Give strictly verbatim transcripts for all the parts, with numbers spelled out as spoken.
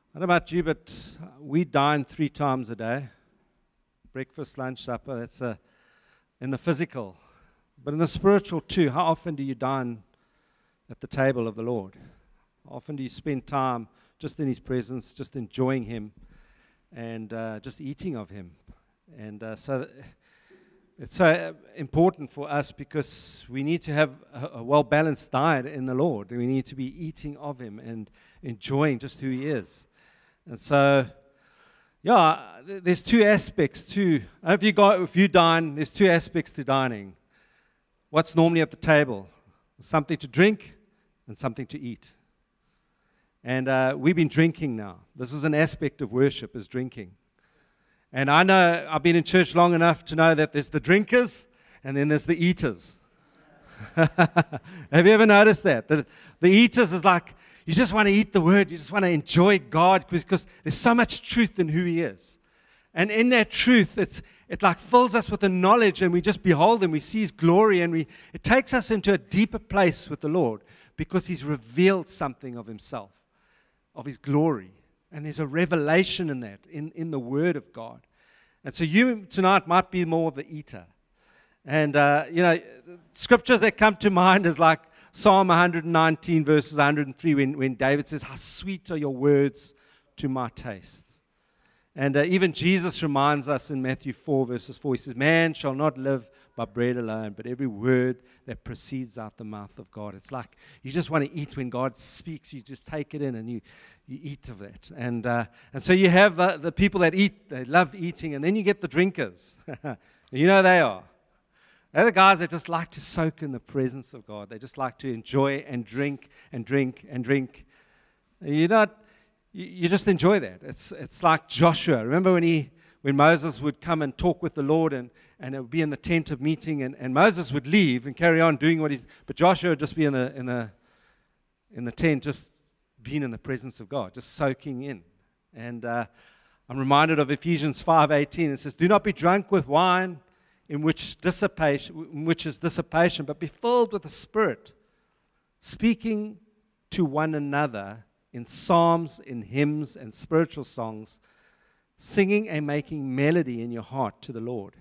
I don't know about you, but we dine three times a day. Breakfast, lunch, supper, that's a, in the physical. But in the spiritual too, how often do you dine at the table of the Lord? How often do you spend time just in His presence, just enjoying Him, and uh, just eating of Him? And uh, so it's so important for us because we need to have a, a well-balanced diet in the Lord. We need to be eating of Him and enjoying just who He is. And so, yeah, there's two aspects too. If you go, if you dine, there's two aspects to dining. What's normally at the table? Something to drink and something to eat. And uh, we've been drinking now. This is an aspect of worship, is drinking. And I know, I've been in church long enough to know that there's the drinkers and then there's the eaters. Have you ever noticed that? The, the eaters is like, you just want to eat the word. You just want to enjoy God because there's so much truth in who He is. And in that truth, it's it like fills us with the knowledge, and we just behold Him. We see His glory, and we it takes us into a deeper place with the Lord because He's revealed something of Himself, of His glory. And there's a revelation in that, in, in the Word of God. And so you tonight might be more of the eater. And, uh, you know, scriptures that come to mind is like Psalm one nineteen, verses one hundred three, when, when David says, "How sweet are your words to my taste." And uh, even Jesus reminds us in Matthew four, verses four, He says, "Man shall not live by bread alone, but every word that proceeds out the mouth of God." It's like you just want to eat when God speaks. You just take it in and you, you eat of that. And uh, and so you have the, the people that eat, they love eating, and then you get the drinkers. You know they are. They're the guys that just like to soak in the presence of God. They just like to enjoy and drink and drink and drink. You're not, you, you just enjoy that. It's it's like Joshua. Remember when he when Moses would come and talk with the Lord, and, and it would be in the tent of meeting, and, and Moses would leave and carry on doing what he's, but Joshua would just be in the in the in the tent, just being in the presence of God, just soaking in. And uh, I'm reminded of Ephesians five eighteen. It says, "Do not be drunk with wine, in which dissipation, in which is dissipation, but be filled with the Spirit, speaking to one another in psalms, in hymns, and spiritual songs, singing and making melody in your heart to the Lord."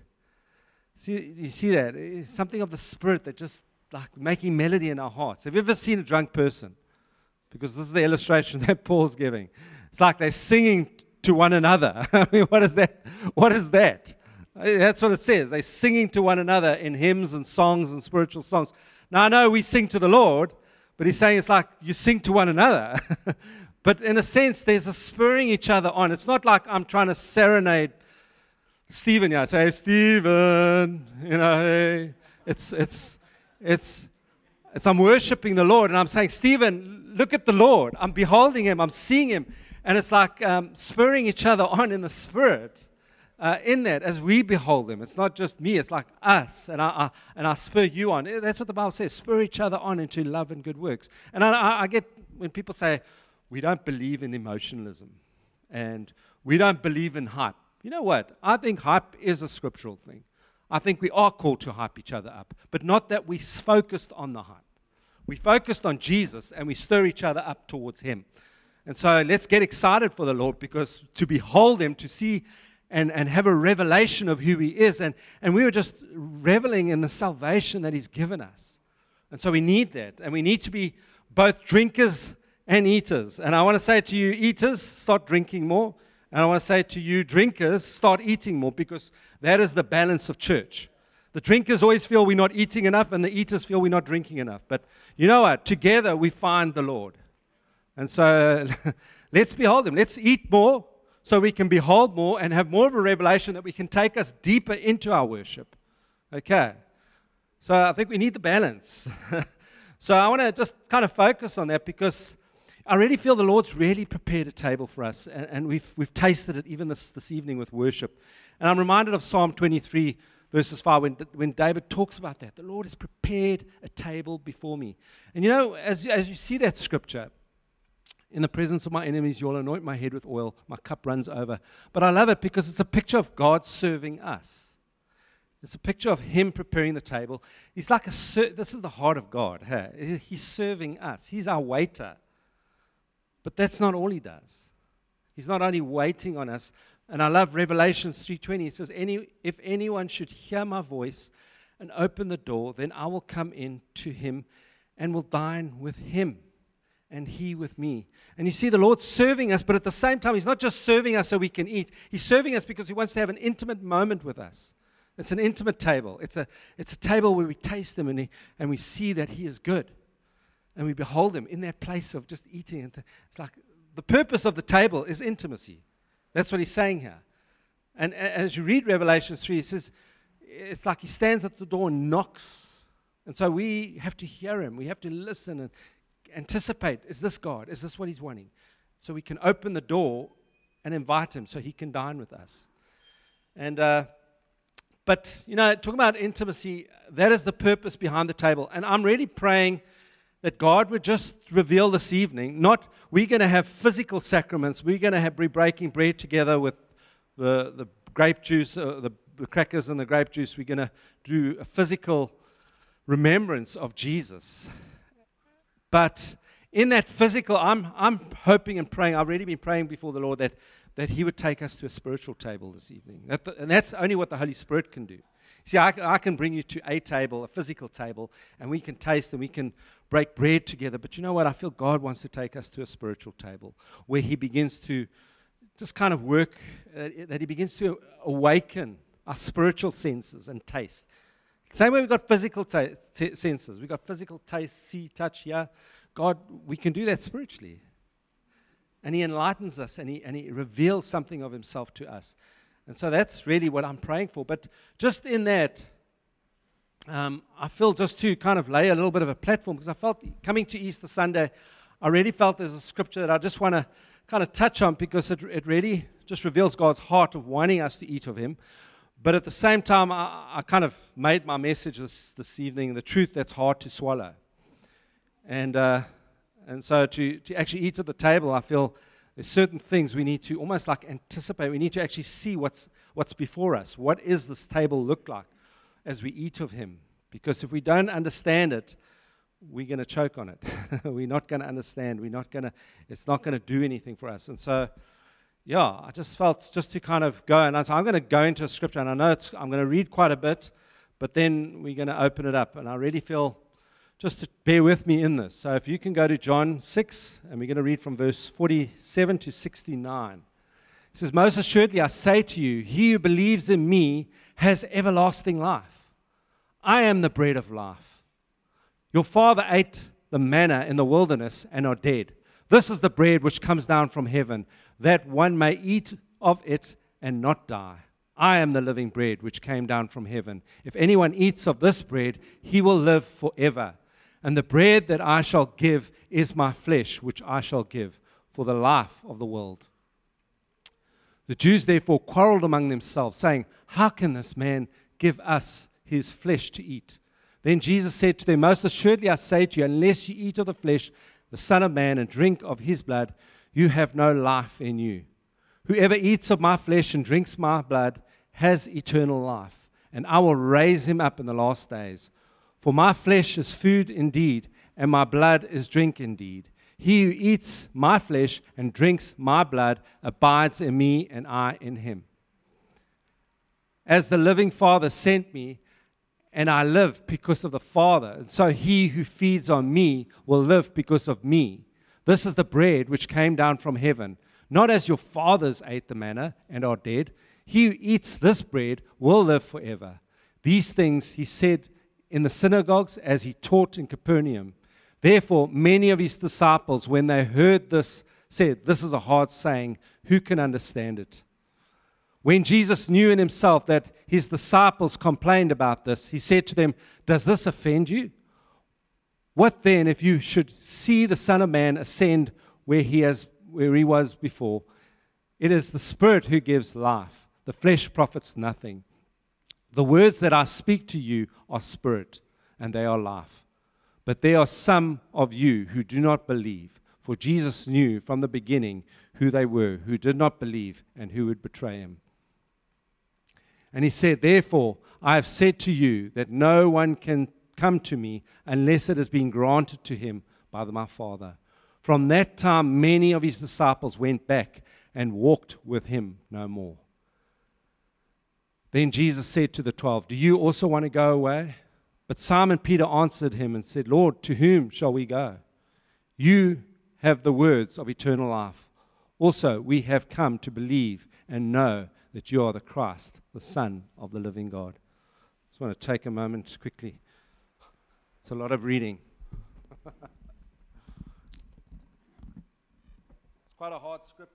See, you see that? It's something of the Spirit that just like making melody in our hearts. Have you ever seen a drunk person? Because this is the illustration that Paul's giving. It's like they're singing to one another. I mean, what is that? What is that? That's what it says. They're singing to one another in hymns and songs and spiritual songs. Now, I know we sing to the Lord, but he's saying it's like you sing to one another. But in a sense, there's a spurring each other on. It's not like I'm trying to serenade Stephen. Yeah, say, "Hey, Stephen," you know, hey. It's, it's, it's, it's, I'm worshiping the Lord, and I'm saying, "Stephen, look at the Lord. I'm beholding Him. I'm seeing Him." And it's like um, spurring each other on in the Spirit. Uh, in that, as we behold Him, it's not just me, it's like us, and I, I and I spur you on. That's what the Bible says, spur each other on into love and good works. And I, I, I get when people say, we don't believe in emotionalism, and we don't believe in hype. You know what? I think hype is a scriptural thing. I think we are called to hype each other up, but not that we focused on the hype. We focused on Jesus, and we stir each other up towards Him. And so let's get excited for the Lord, because to behold Him, to see And, and have a revelation of who He is. And, and we were just reveling in the salvation that He's given us. And so we need that. And we need to be both drinkers and eaters. And I want to say to you, eaters, start drinking more. And I want to say to you, drinkers, start eating more, because that is the balance of church. The drinkers always feel we're not eating enough, and the eaters feel we're not drinking enough. But you know what? Together we find the Lord. And so let's behold Him. Let's eat more, so we can behold more and have more of a revelation that we can take us deeper into our worship. Okay. So I think we need the balance. So I want to just kind of focus on that, because I really feel the Lord's really prepared a table for us, and, and we've we've tasted it even this, this evening with worship. And I'm reminded of Psalm twenty-three, verses five, when, when David talks about that. The Lord has prepared a table before me. And you know, as, as you see that scripture, "In the presence of my enemies, you'll anoint my head with oil. My cup runs over." But I love it because it's a picture of God serving us. It's a picture of Him preparing the table. He's like a, ser- this is the heart of God. Hey? He's serving us. He's our waiter. But that's not all He does. He's not only waiting on us. And I love Revelation three twenty. It says, Any, if anyone should hear my voice and open the door, then I will come in to him and will dine with him and he with me. And you see the Lord serving us, but at the same time, he's not just serving us so we can eat. He's serving us because he wants to have an intimate moment with us. It's an intimate table. It's a, it's a table where we taste him and, he, and we see that he is good. And we behold him in that place of just eating. It's like the purpose of the table is intimacy. That's what he's saying here. And as you read Revelation three, it says, it's like he stands at the door and knocks. And so we have to hear him. We have to listen and anticipate, is this God? Is this what he's wanting? So we can open the door and invite him so he can dine with us. And, uh, but, you know, talking about intimacy, that is the purpose behind the table. And I'm really praying that God would just reveal this evening, not we're going to have physical sacraments, we're going to have, be breaking bread together with the, the grape juice, uh, the, the crackers and the grape juice. We're going to do a physical remembrance of Jesus. But in that physical, I'm, I'm hoping and praying, I've already been praying before the Lord that, that he would take us to a spiritual table this evening. That the, and that's only what the Holy Spirit can do. See, I, I can bring you to a table, a physical table, and we can taste and we can break bread together. But you know what? I feel God wants to take us to a spiritual table where he begins to just kind of work, uh, that he begins to awaken our spiritual senses and taste. Same way we've got physical ta- t- senses. We've got physical taste, see, touch, hear. God, we can do that spiritually. And he enlightens us and he, and he reveals something of himself to us. And so that's really what I'm praying for. But just in that, um, I feel just to kind of lay a little bit of a platform, because I felt coming to Easter Sunday, I really felt there's a scripture that I just want to kind of touch on, because it, it really just reveals God's heart of wanting us to eat of him. But at the same time, I, I kind of made my message this, this evening, the truth that's hard to swallow. And uh, and so to, to actually eat at the table, I feel there's certain things we need to almost like anticipate. We need to actually see what's what's before us. What is this table look like as we eat of him? Because if we don't understand it, we're going to choke on it. We're not going to understand. We're not going to, it's not going to do anything for us. And so, yeah, I just felt just to kind of go, and I said, I'm going to go into a scripture, and I know it's, I'm going to read quite a bit, but then we're going to open it up. And I really feel just to bear with me in this. So if you can go to John six, and we're going to read from verse forty-seven to sixty-nine. It says, most assuredly I say to you, he who believes in me has everlasting life. I am the bread of life. Your father ate the manna in the wilderness and are dead. This is the bread which comes down from heaven, that one may eat of it and not die. I am the living bread which came down from heaven. If anyone eats of this bread, he will live forever. And the bread that I shall give is my flesh, which I shall give for the life of the world. The Jews therefore quarreled among themselves, saying, how can this man give us his flesh to eat? Then Jesus said to them, most assuredly I say to you, unless you eat of the flesh, the Son of Man, and drink of his blood, you have no life in you. Whoever eats of my flesh and drinks my blood has eternal life, and I will raise him up in the last days. For my flesh is food indeed, and my blood is drink indeed. He who eats my flesh and drinks my blood abides in me, and I in him. As the living Father sent me, and I live because of the Father, and so he who feeds on me will live because of me. This is the bread which came down from heaven, not as your fathers ate the manna and are dead. He who eats this bread will live forever. These things he said in the synagogues as he taught in Capernaum. Therefore, many of his disciples, when they heard this, said, this is a hard saying, who can understand it? When Jesus knew in himself that his disciples complained about this, he said to them, does this offend you? What then if you should see the Son of Man ascend where he has, where he was before? It is the Spirit who gives life. The flesh profits nothing. The words that I speak to you are spirit, and they are life. But there are some of you who do not believe, for Jesus knew from the beginning who they were, who did not believe and who would betray him. And he said, therefore, I have said to you that no one can come to me unless it has been granted to him by my Father. From that time, many of his disciples went back and walked with him no more. Then Jesus said to the twelve, do you also want to go away? But Simon Peter answered him and said, Lord, to whom shall we go? You have the words of eternal life. Also, we have come to believe and know that you are the Christ, the Son of the living God. I just want to take a moment quickly. It's a lot of reading. It's quite a hard scripture.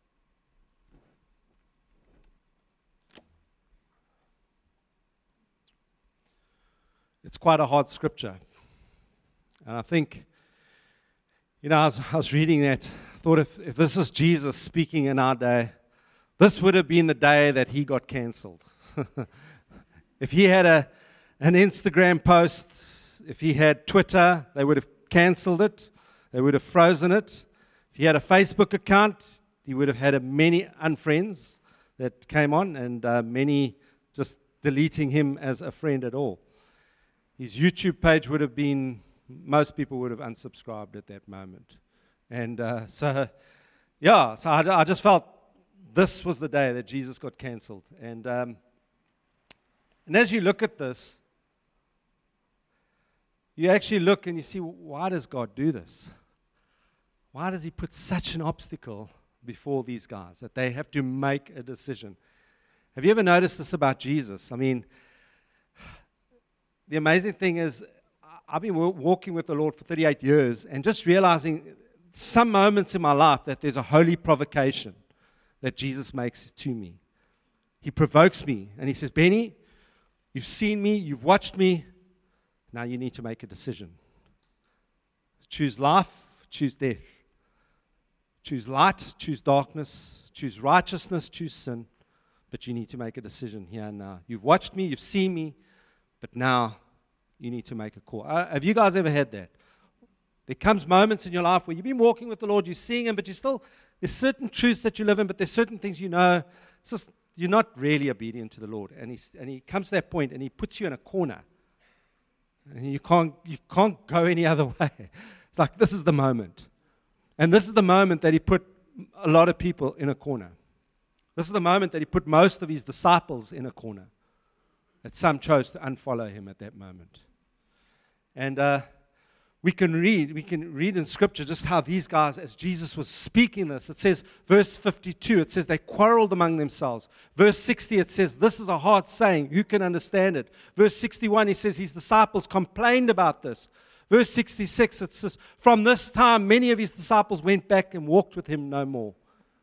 It's quite a hard scripture. And I think, you know, I was, I was reading that, I thought if, if this is Jesus speaking in our day, this would have been the day that he got cancelled. If he had a, an Instagram post, if he had Twitter, they would have cancelled it. They would have frozen it. If he had a Facebook account, he would have had a many unfriends that came on and uh, many just deleting him as a friend at all. His YouTube page would have been, most people would have unsubscribed at that moment. And uh, so, yeah, so I, I just felt this was the day that Jesus got cancelled. And, um, and as you look at this, you actually look and you see, why does God do this? Why does he put such an obstacle before these guys that they have to make a decision? Have you ever noticed this about Jesus? I mean, the amazing thing is, I've been walking with the Lord for thirty-eight years and just realizing some moments in my life that there's a holy provocation that Jesus makes to me. He provokes me and he says, Benny, you've seen me, you've watched me, now you need to make a decision. Choose life, choose death. Choose light, choose darkness, choose righteousness, choose sin, but you need to make a decision here and now. You've watched me, you've seen me, but now you need to make a call. Uh, have you guys ever had that? There comes moments in your life where you've been walking with the Lord, you're seeing him, but you still, there's certain truths that you live in, but there's certain things you know, it's just, you're not really obedient to the Lord. And, he's, and he comes to that point and he puts you in a corner. And you can't, you can't go any other way. It's like, this is the moment. And this is the moment that he put a lot of people in a corner. This is the moment that he put most of his disciples in a corner. That some chose to unfollow him at that moment. And uh, we can read, we can read in Scripture just how these guys, as Jesus was speaking this, it says, verse fifty-two, it says they quarreled among themselves. Verse sixty, it says, this is a hard saying, who can understand it? Verse sixty-one, he says, his disciples complained about this. Verse sixty-six, it says, from this time, many of his disciples went back and walked with him no more.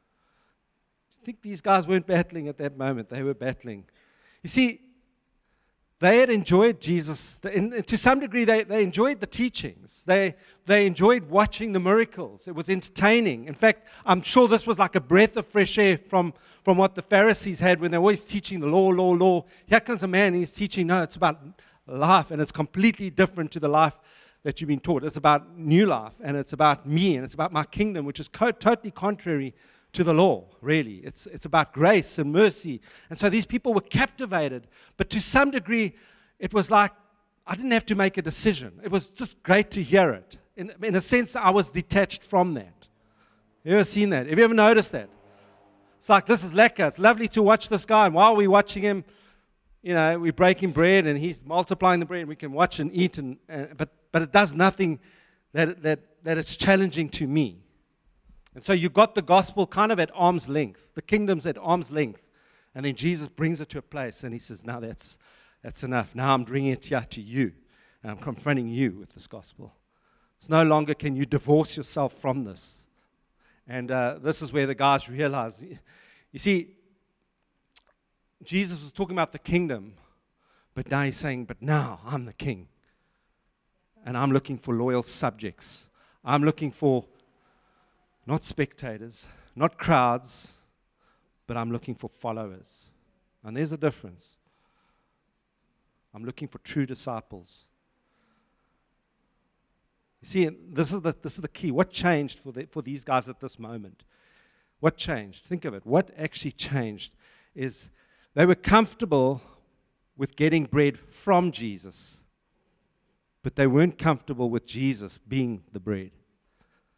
I think these guys weren't battling at that moment. They were battling. You see, they had enjoyed Jesus. And to some degree, they, they enjoyed the teachings. They, they enjoyed watching the miracles. It was entertaining. In fact, I'm sure this was like a breath of fresh air from, from what the Pharisees had when they were always teaching the law, law, law. Here comes a man and he's teaching, no, it's about life, and it's completely different to the life that you've been taught. It's about new life, and it's about me, and it's about my kingdom, which is co- totally contrary to the law, really. It's, it's about grace and mercy. And so these people were captivated. But to some degree, it was like I didn't have to make a decision. It was just great to hear it. In, in a sense, I was detached from that. You ever seen that? Have you ever noticed that? It's like, this is lekker. It's lovely to watch this guy. And while we're watching him, you know, we're breaking bread and he's multiplying the bread and we can watch and eat. And, and but, but it does nothing that, that, that it's challenging to me. And so you got the gospel kind of at arm's length. The kingdom's at arm's length. And then Jesus brings it to a place and he says, now that's, that's enough. Now I'm bringing it here to you. And I'm confronting you with this gospel. It's no longer can you divorce yourself from this. And uh, this is where the guys realize, you see, Jesus was talking about the kingdom, but now he's saying, but now I'm the king. And I'm looking for loyal subjects. I'm looking for not spectators, not crowds, but I'm looking for followers. And there's a difference. I'm looking for true disciples. You see, this is the, this is the key. What changed for, the, for these guys at this moment? What changed? Think of it. What actually changed is they were comfortable with getting bread from Jesus, but they weren't comfortable with Jesus being the bread.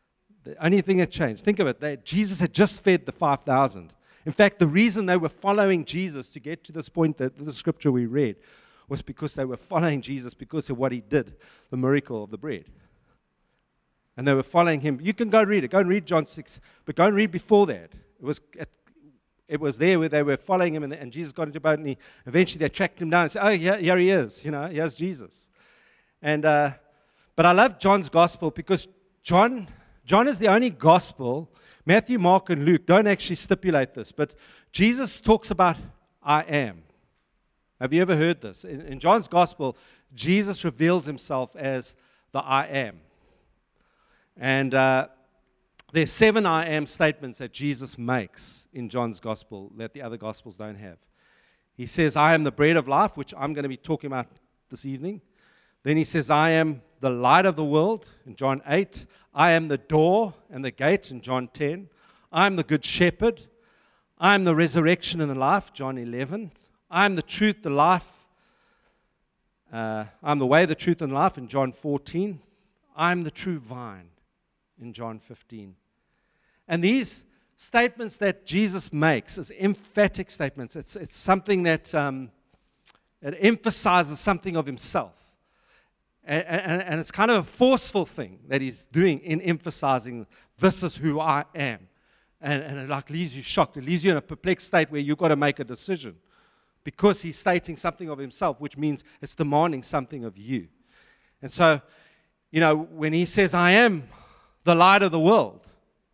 The only thing that changed, think of it, they, Jesus had just fed the five thousand. In fact, the reason they were following Jesus to get to this point, that the scripture we read, was because they were following Jesus because of what he did, the miracle of the bread. And they were following him. You can go read it. Go and read John six, but go and read before that. It was at, it was there where they were following him, and, and Jesus got into a boat, and he, eventually they tracked him down and said, oh, yeah, here he is. You know, here's Jesus. And uh, but I love John's gospel because John... John is the only gospel, Matthew, Mark, and Luke don't actually stipulate this, but Jesus talks about I am. Have you ever heard this? In, in John's gospel, Jesus reveals himself as the I am. And uh, there's seven I am statements that Jesus makes in John's gospel that the other gospels don't have. He says, I am the bread of life, which I'm going to be talking about this evening. Then he says, I am the light of the world in John eight. I am the door and the gate in John ten. I am the good shepherd. I am the resurrection and the life, John eleven. I am the truth, the life. Uh, I am the way, the truth, and life in John fourteen. I am the true vine in John fifteen. And these statements that Jesus makes as emphatic statements, it's, it's something that um, it emphasizes something of himself. And, and, and it's kind of a forceful thing that he's doing in emphasizing, this is who I am. And, and it like leaves you shocked. It leaves you in a perplexed state where you've got to make a decision. Because he's stating something of himself, which means it's demanding something of you. And so, you know, when he says, I am the light of the world,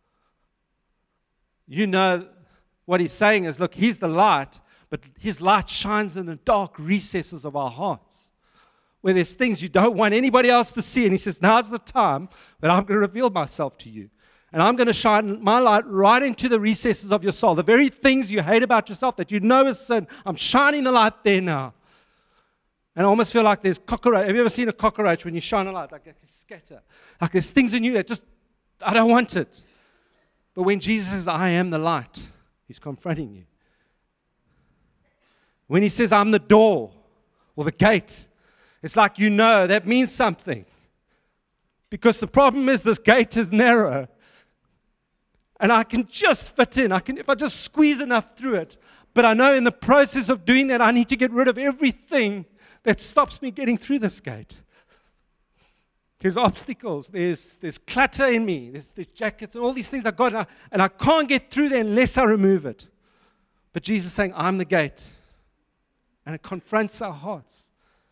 you know what he's saying is, look, he's the light, but his light shines in the dark recesses of our hearts, where there's things you don't want anybody else to see. And he says, now's the time that I'm going to reveal myself to you. And I'm going to shine my light right into the recesses of your soul. The very things you hate about yourself that you know is sin, I'm shining the light there now. And I almost feel like there's cockroach. Have you ever seen a cockroach when you shine a light? Like they scatter. Like there's things in you that just, I don't want it. But when Jesus says, I am the light, he's confronting you. When he says, I'm the door or the gate, it's like, you know, that means something. Because the problem is this gate is narrow. And I can just fit in. I can, if I just squeeze enough through it. But I know in the process of doing that, I need to get rid of everything that stops me getting through this gate. There's obstacles. There's, there's clutter in me. There's, there's jackets and all these things I've got. And I, and I can't get through there unless I remove it. But Jesus is saying, I'm the gate. And it confronts our hearts.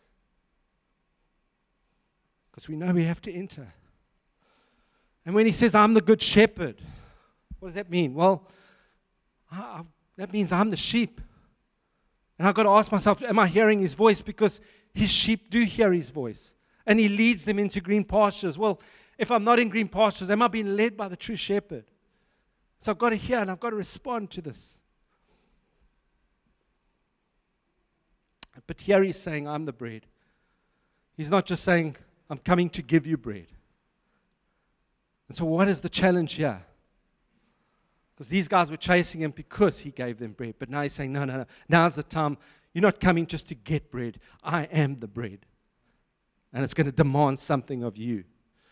Because we know we have to enter. And when he says, I'm the good shepherd, what does that mean? Well, I, that means I'm the sheep. And I've got to ask myself, am I hearing his voice? Because his sheep do hear his voice. And he leads them into green pastures. Well, if I'm not in green pastures, am I being led by the true shepherd? So I've got to hear and I've got to respond to this. But here he's saying, I'm the bread. He's not just saying, I'm coming to give you bread. And so what is the challenge here? Because these guys were chasing him because he gave them bread. But now he's saying, no, no, no. Now's the time. You're not coming just to get bread. I am the bread. And it's going to demand something of you.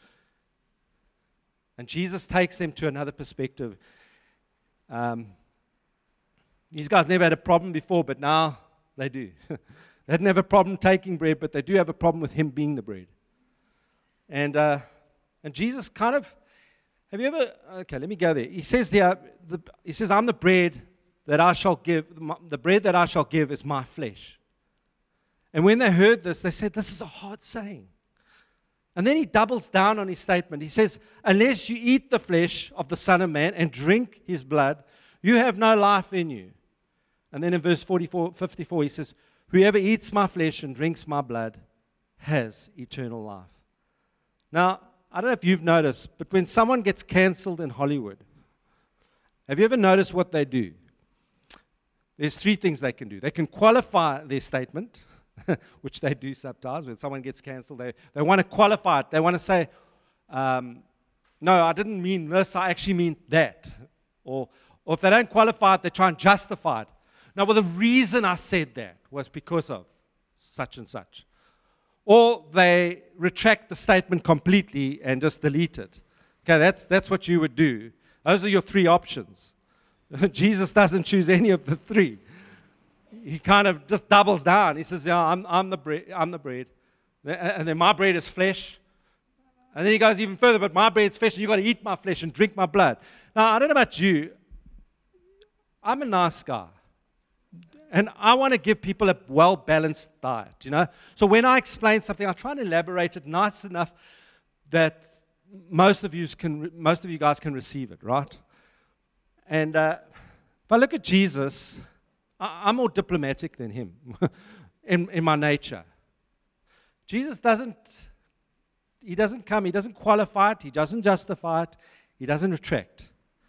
And Jesus takes them to another perspective. Um, these guys never had a problem before, but now they do. They didn't have a problem taking bread, but they do have a problem with him being the bread. And uh, and Jesus kind of, have you ever, okay, let me go there. He says there, the, he says, I'm the bread that I shall give, the bread that I shall give is my flesh. And when they heard this, they said, this is a hard saying. And then he doubles down on his statement. He says, unless you eat the flesh of the Son of Man and drink his blood, you have no life in you. And then in verse forty-four, fifty-four, he says, whoever eats my flesh and drinks my blood has eternal life. Now, I don't know if you've noticed, but when someone gets canceled in Hollywood, have you ever noticed what they do? There's three things they can do. They can qualify their statement, which they do sometimes. When someone gets canceled, they, they want to qualify it. They want to say, um, no, I didn't mean this, I actually mean that. Or, or if they don't qualify it, they try and justify it. No, well, the reason I said that was because of such and such. Or they retract the statement completely and just delete it. Okay, that's, that's what you would do. Those are your three options. Jesus doesn't choose any of the three. He kind of just doubles down. He says, yeah, I'm, I'm the bread. I'm the bread. And then my bread is flesh. And then he goes even further, but my bread is flesh, and you've got to eat my flesh and drink my blood. Now, I don't know about you. I'm a nice guy. And I want to give people a well-balanced diet, you know. So when I explain something, I try and elaborate it nice enough that most of you can, most of you guys can receive it, right? And uh, if I look at Jesus, I, I'm more diplomatic than him in, in my nature. Jesus doesn't, he doesn't come, he doesn't qualify it, he doesn't justify it, he doesn't retract.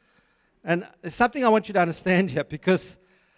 And there's something I want you to understand here, because,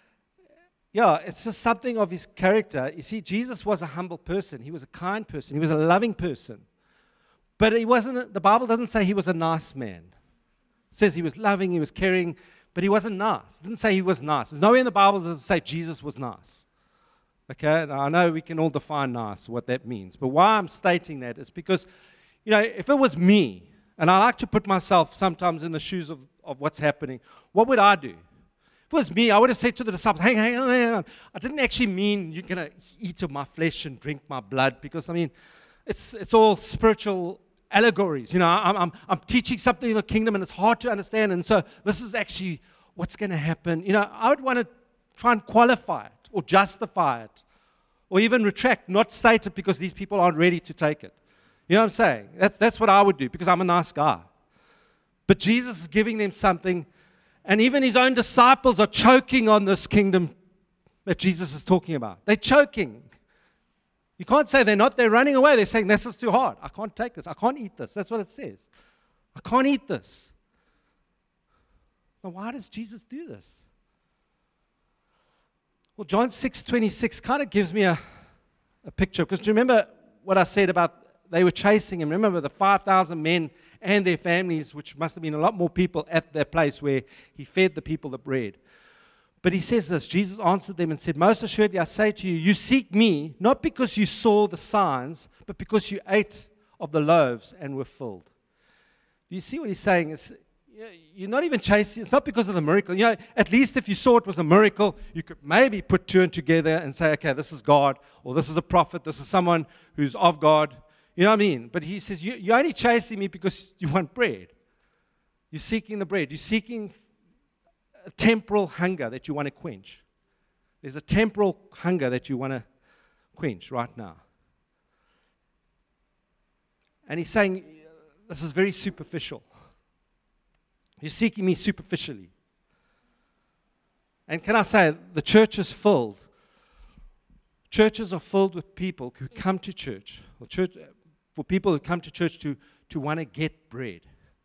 yeah, it's just something of his character. You see, Jesus was a humble person. He was a kind person. He was a loving person. But he wasn't, the Bible doesn't say he was a nice man. It says he was loving, he was caring, but he wasn't nice. It didn't say he was nice. There's nowhere in the Bible that doesn't say Jesus was nice. Okay, now I know we can all define nice, what that means. But why I'm stating that is because, you know, if it was me, and I like to put myself sometimes in the shoes of, of what's happening, what would I do? If it was me, I would have said to the disciples, hang, hang on, hang on. I didn't actually mean you're going to eat of my flesh and drink my blood, because, I mean, it's it's all spiritual allegories. You know, I'm, I'm, I'm teaching something in the kingdom, and it's hard to understand, and so this is actually what's going to happen. You know, I would want to try and qualify it, or justify it, or even retract, not state it because these people aren't ready to take it. You know what I'm saying? That's, that's what I would do, because I'm a nice guy. But Jesus is giving them something, and even his own disciples are choking on this kingdom that Jesus is talking about. They're choking. You can't say they're not. They're running away. They're saying, this is too hard. I can't take this. I can't eat this. That's what it says. I can't eat this. Now, why does Jesus do this? Well, John six twenty-six kind of gives me a, a picture. Because do you remember what I said about they were chasing him? Remember the five thousand men and their families, which must have been a lot more people at that place where he fed the people the bread. But he says this, Jesus answered them and said, most assuredly I say to you, you seek me, not because you saw the signs, but because you ate of the loaves and were filled. Do you see what he's saying? It's, you're not even chasing, it's not because of the miracle. You know, at least if you saw it was a miracle, you could maybe put two and together and say, okay, this is God, or this is a prophet, this is someone who's of God. You know what I mean? But he says, you, you're only chasing me because you want bread. You're seeking the bread. You're seeking a temporal hunger that you want to quench. There's a temporal hunger that you want to quench right now. And he's saying, this is very superficial. You're seeking me superficially. And can I say, the church is filled. Churches are filled with people who come to church, or church for people who come to church to, to want to get bread.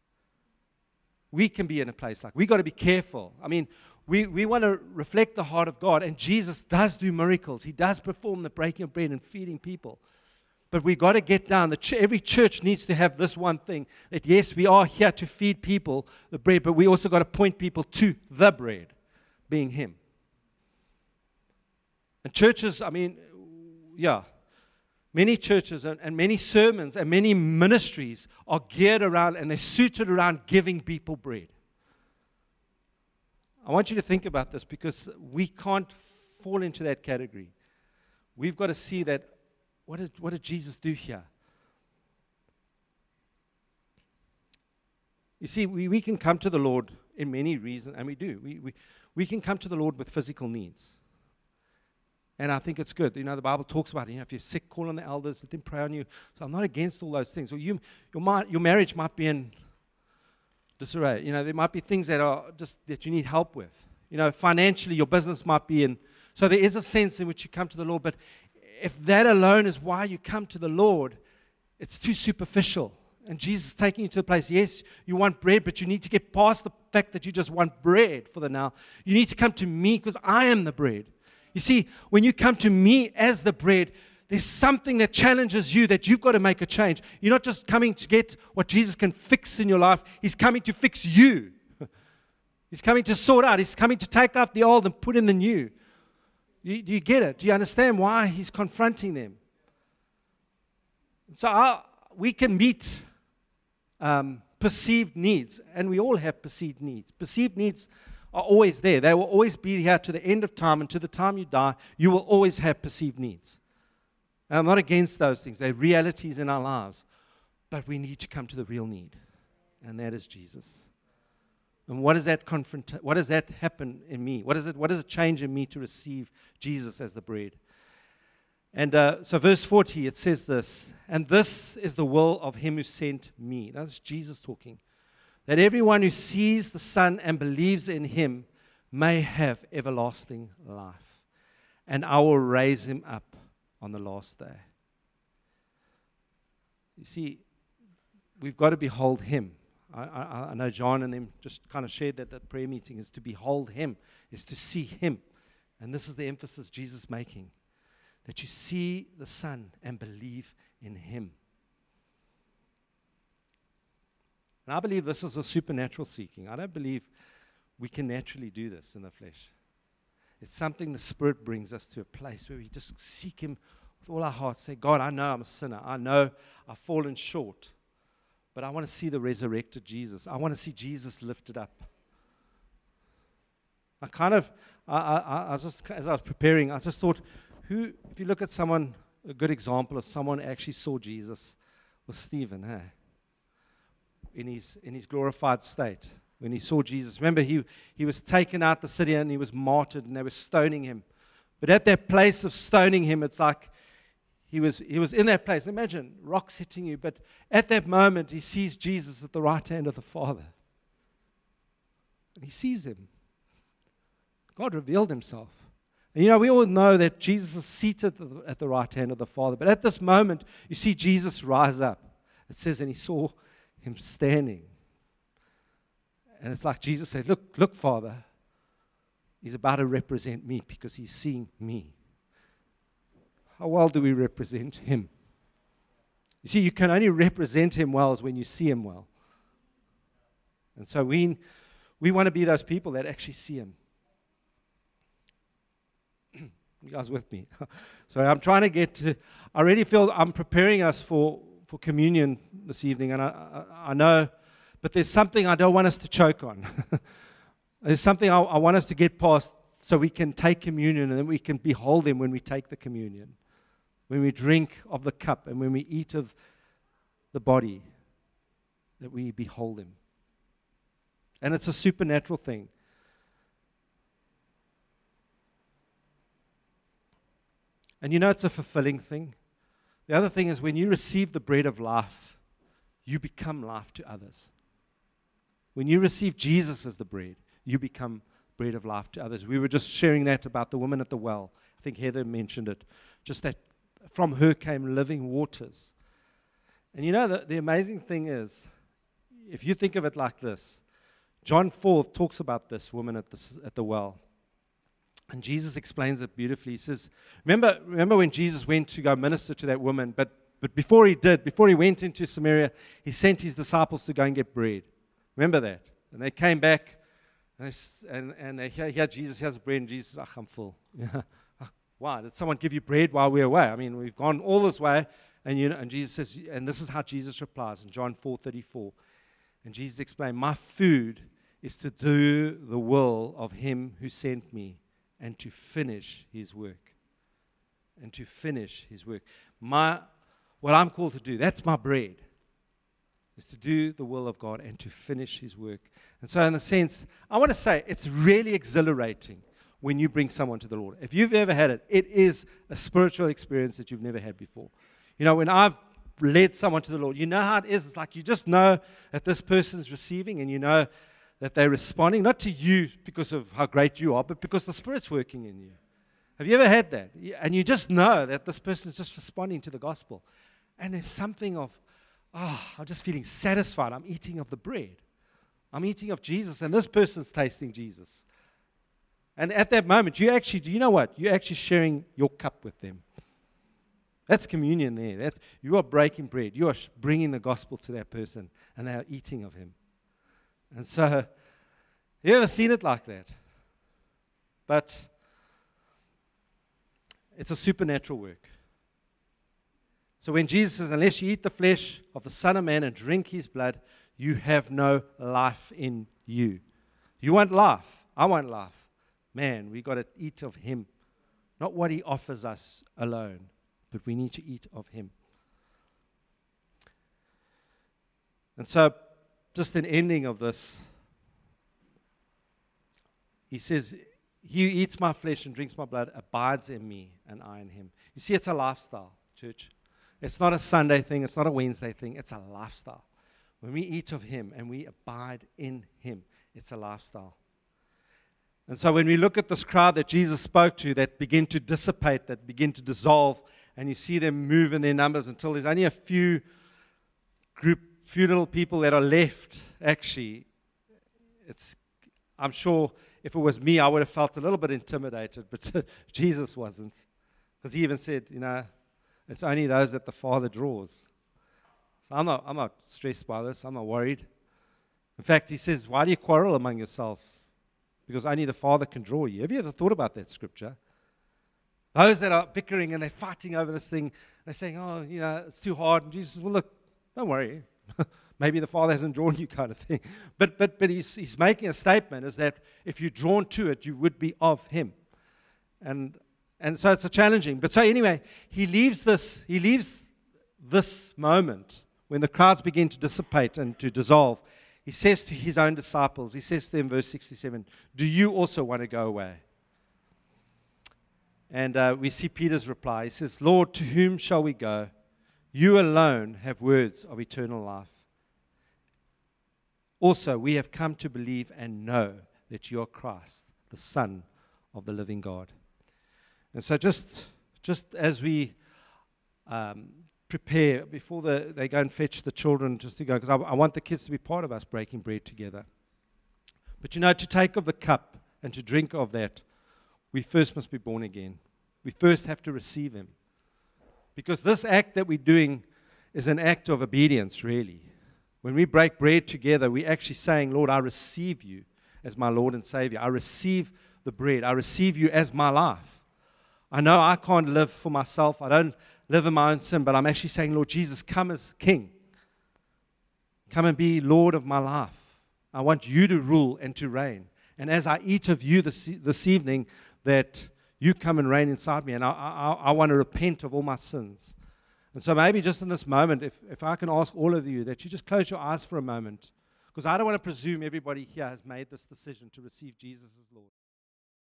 We can be in a place like, we got to be careful. I mean, we, we want to reflect the heart of God, and Jesus does do miracles. He does perform the breaking of bread and feeding people. But we got to get down. The ch- every church needs to have this one thing, that yes, we are here to feed people the bread, but we also got to point people to the bread, being Him. And churches, I mean, yeah, many churches and, and many sermons and many ministries are geared around, and they're suited around giving people bread. I want you to think about this, because we can't fall into that category. We've got to see that, what did, what did Jesus do here? You see, we, we can come to the Lord in many reasons, and we do. We, we, we can come to the Lord with physical needs. And I think it's good. You know, the Bible talks about it. You know, if you're sick, call on the elders, let them pray on you. So I'm not against all those things. Or you, your, mar- your marriage might be in disarray. You know, there might be things that are just that you need help with. You know, financially, your business might be in. So there is a sense in which you come to the Lord. But if that alone is why you come to the Lord, it's too superficial. And Jesus is taking you to a place, yes, you want bread, but you need to get past the fact that you just want bread for the now. You need to come to me, because I am the bread. You see, when you come to me as the bread, there's something that challenges you, that you've got to make a change. You're not just coming to get what Jesus can fix in your life. He's coming to fix you. He's coming to sort out. He's coming to take out the old and put in the new. You, do you get it? Do you understand why he's confronting them? So our, we can meet um, perceived needs, and we all have perceived needs. Perceived needs are always there. They will always be here to the end of time, and to the time you die, you will always have perceived needs. And I'm not against those things. They're realities in our lives. But we need to come to the real need, and that is Jesus. And what does that confront? What does that happen in me? What is it? What does it change in me to receive Jesus as the bread? And uh, so, verse forty, it says this: "And this is the will of him who sent me." That's Jesus talking. "That everyone who sees the Son and believes in him may have everlasting life, and I will raise him up on the last day." You see, we've got to behold him. I, I, I know John and them just kind of shared that that prayer meeting is to behold him, is to see him. And this is the emphasis Jesus is making, that you see the Son and believe in him. And I believe this is a supernatural seeking. I don't believe we can naturally do this in the flesh. It's something the Spirit brings us to a place where we just seek him with all our hearts. Say, God, I know I'm a sinner. I know I've fallen short. But I want to see the resurrected Jesus. I want to see Jesus lifted up. I kind of, I, I, I just, as I was preparing, I just thought, who, if you look at someone, a good example of someone who actually saw Jesus was Stephen, hey? In his, in his glorified state, when he saw Jesus. Remember, he, he was taken out the city and he was martyred and they were stoning him. But at that place of stoning him, it's like, He was, he was in that place. Imagine rocks hitting you, but at that moment, he sees Jesus at the right hand of the Father. And he sees him. God revealed himself. And you know, we all know that Jesus is seated at the, at the right hand of the Father. But at this moment, you see Jesus rise up. It says, and he saw him standing. And it's like Jesus said, look, look, Father, he's about to represent me because he's seeing me. How well do we represent him? You see, you can only represent him well as when you see him well. And so we, we want to be those people that actually see him. You guys with me? So I'm trying to get to, I really feel I'm preparing us for, for communion this evening, and I, I, I know, but there's something I don't want us to choke on. There's something I, I want us to get past so we can take communion and then we can behold him when we take the communion. When we drink of the cup and when we eat of the body, that we behold him. And it's a supernatural thing. And you know it's a fulfilling thing. The other thing is when you receive the bread of life, you become life to others. When you receive Jesus as the bread, you become bread of life to others. We were just sharing that about the woman at the well. I think Heather mentioned it. Just that from her came living waters. And you know, the, the amazing thing is, if you think of it like this, John four talks about this woman at the, at the well. And Jesus explains it beautifully. He says, remember, remember when Jesus went to go minister to that woman, but, but before he did, before he went into Samaria, he sent his disciples to go and get bread. Remember that? And they came back, and they, and, and they hear, hear Jesus has bread, and Jesus says, ach, I'm full. Why? Did someone give you bread while we're away? I mean, we've gone all this way, and you know, and Jesus says, and this is how Jesus replies in John four thirty-four. And Jesus explained, my food is to do the will of him who sent me and to finish his work. And to finish his work. My, what I'm called to do, that's my bread, is to do the will of God and to finish his work. And so in a sense, I want to say it's really exhilarating when you bring someone to the Lord. If you've ever had it, it is a spiritual experience that you've never had before. You know, when I've led someone to the Lord, you know how it is. It's like you just know that this person's receiving and you know that they're responding, not to you because of how great you are, but because the Spirit's working in you. Have you ever had that? And you just know that this person's just responding to the gospel. And there's something of, oh, I'm just feeling satisfied. I'm eating of the bread. I'm eating of Jesus, and this person's tasting Jesus. And at that moment, you actually, do you know what? You're actually sharing your cup with them. That's communion there. That, you are breaking bread. You are bringing the gospel to that person, and they are eating of him. And so, you ever seen it like that? But it's a supernatural work. So when Jesus says, unless you eat the flesh of the Son of Man and drink his blood, you have no life in you. You want life. I want life. Man, we got to eat of Him. Not what He offers us alone, but we need to eat of Him. And so, just an ending of this, He says, he who eats my flesh and drinks my blood abides in me, and I in him. You see, it's a lifestyle, church. It's not a Sunday thing. It's not a Wednesday thing. It's a lifestyle. When we eat of Him and we abide in Him, it's a lifestyle. And so when we look at this crowd that Jesus spoke to that begin to dissipate, that begin to dissolve, and you see them move in their numbers until there's only a few group, few little people that are left, actually, it's, I'm sure if it was me, I would have felt a little bit intimidated, but Jesus wasn't. Because He even said, you know, it's only those that the Father draws. So I'm not, I'm not stressed by this. I'm not worried. In fact, He says, why do you quarrel among yourselves? Because only the Father can draw you. Have you ever thought about that scripture? Those that are bickering and they're fighting over this thing, they're saying, oh, you know, it's too hard. And Jesus says, well, look, don't worry. Maybe the Father hasn't drawn you, kind of thing. But but but he's, he's making a statement, is that if you're drawn to it, you would be of Him. And and so it's a challenging. But so anyway, he leaves this, he leaves this moment when the crowds begin to dissipate and to dissolve. He says to His own disciples, He says to them, verse sixty-seven, do you also want to go away? And uh, we see Peter's reply. He says, Lord, to whom shall we go? You alone have words of eternal life. Also, we have come to believe and know that you are Christ, the Son of the living God. And so just, just as we um, prepare, before the, they go and fetch the children just to go, because I, I want the kids to be part of us breaking bread together. But you know, to take of the cup and to drink of that, we first must be born again. We first have to receive Him. Because this act that we're doing is an act of obedience, really. When we break bread together, we're actually saying, Lord, I receive you as my Lord and Savior. I receive the bread. I receive you as my life. I know I can't live for myself. I don't live in my own sin, but I'm actually saying, Lord Jesus, come as King. Come and be Lord of my life. I want you to rule and to reign. And as I eat of you this, this evening, that you come and reign inside me. And I, I, I want to repent of all my sins. And so maybe just in this moment, if, if I can ask all of you that you just close your eyes for a moment. Because I don't want to presume everybody here has made this decision to receive Jesus as Lord.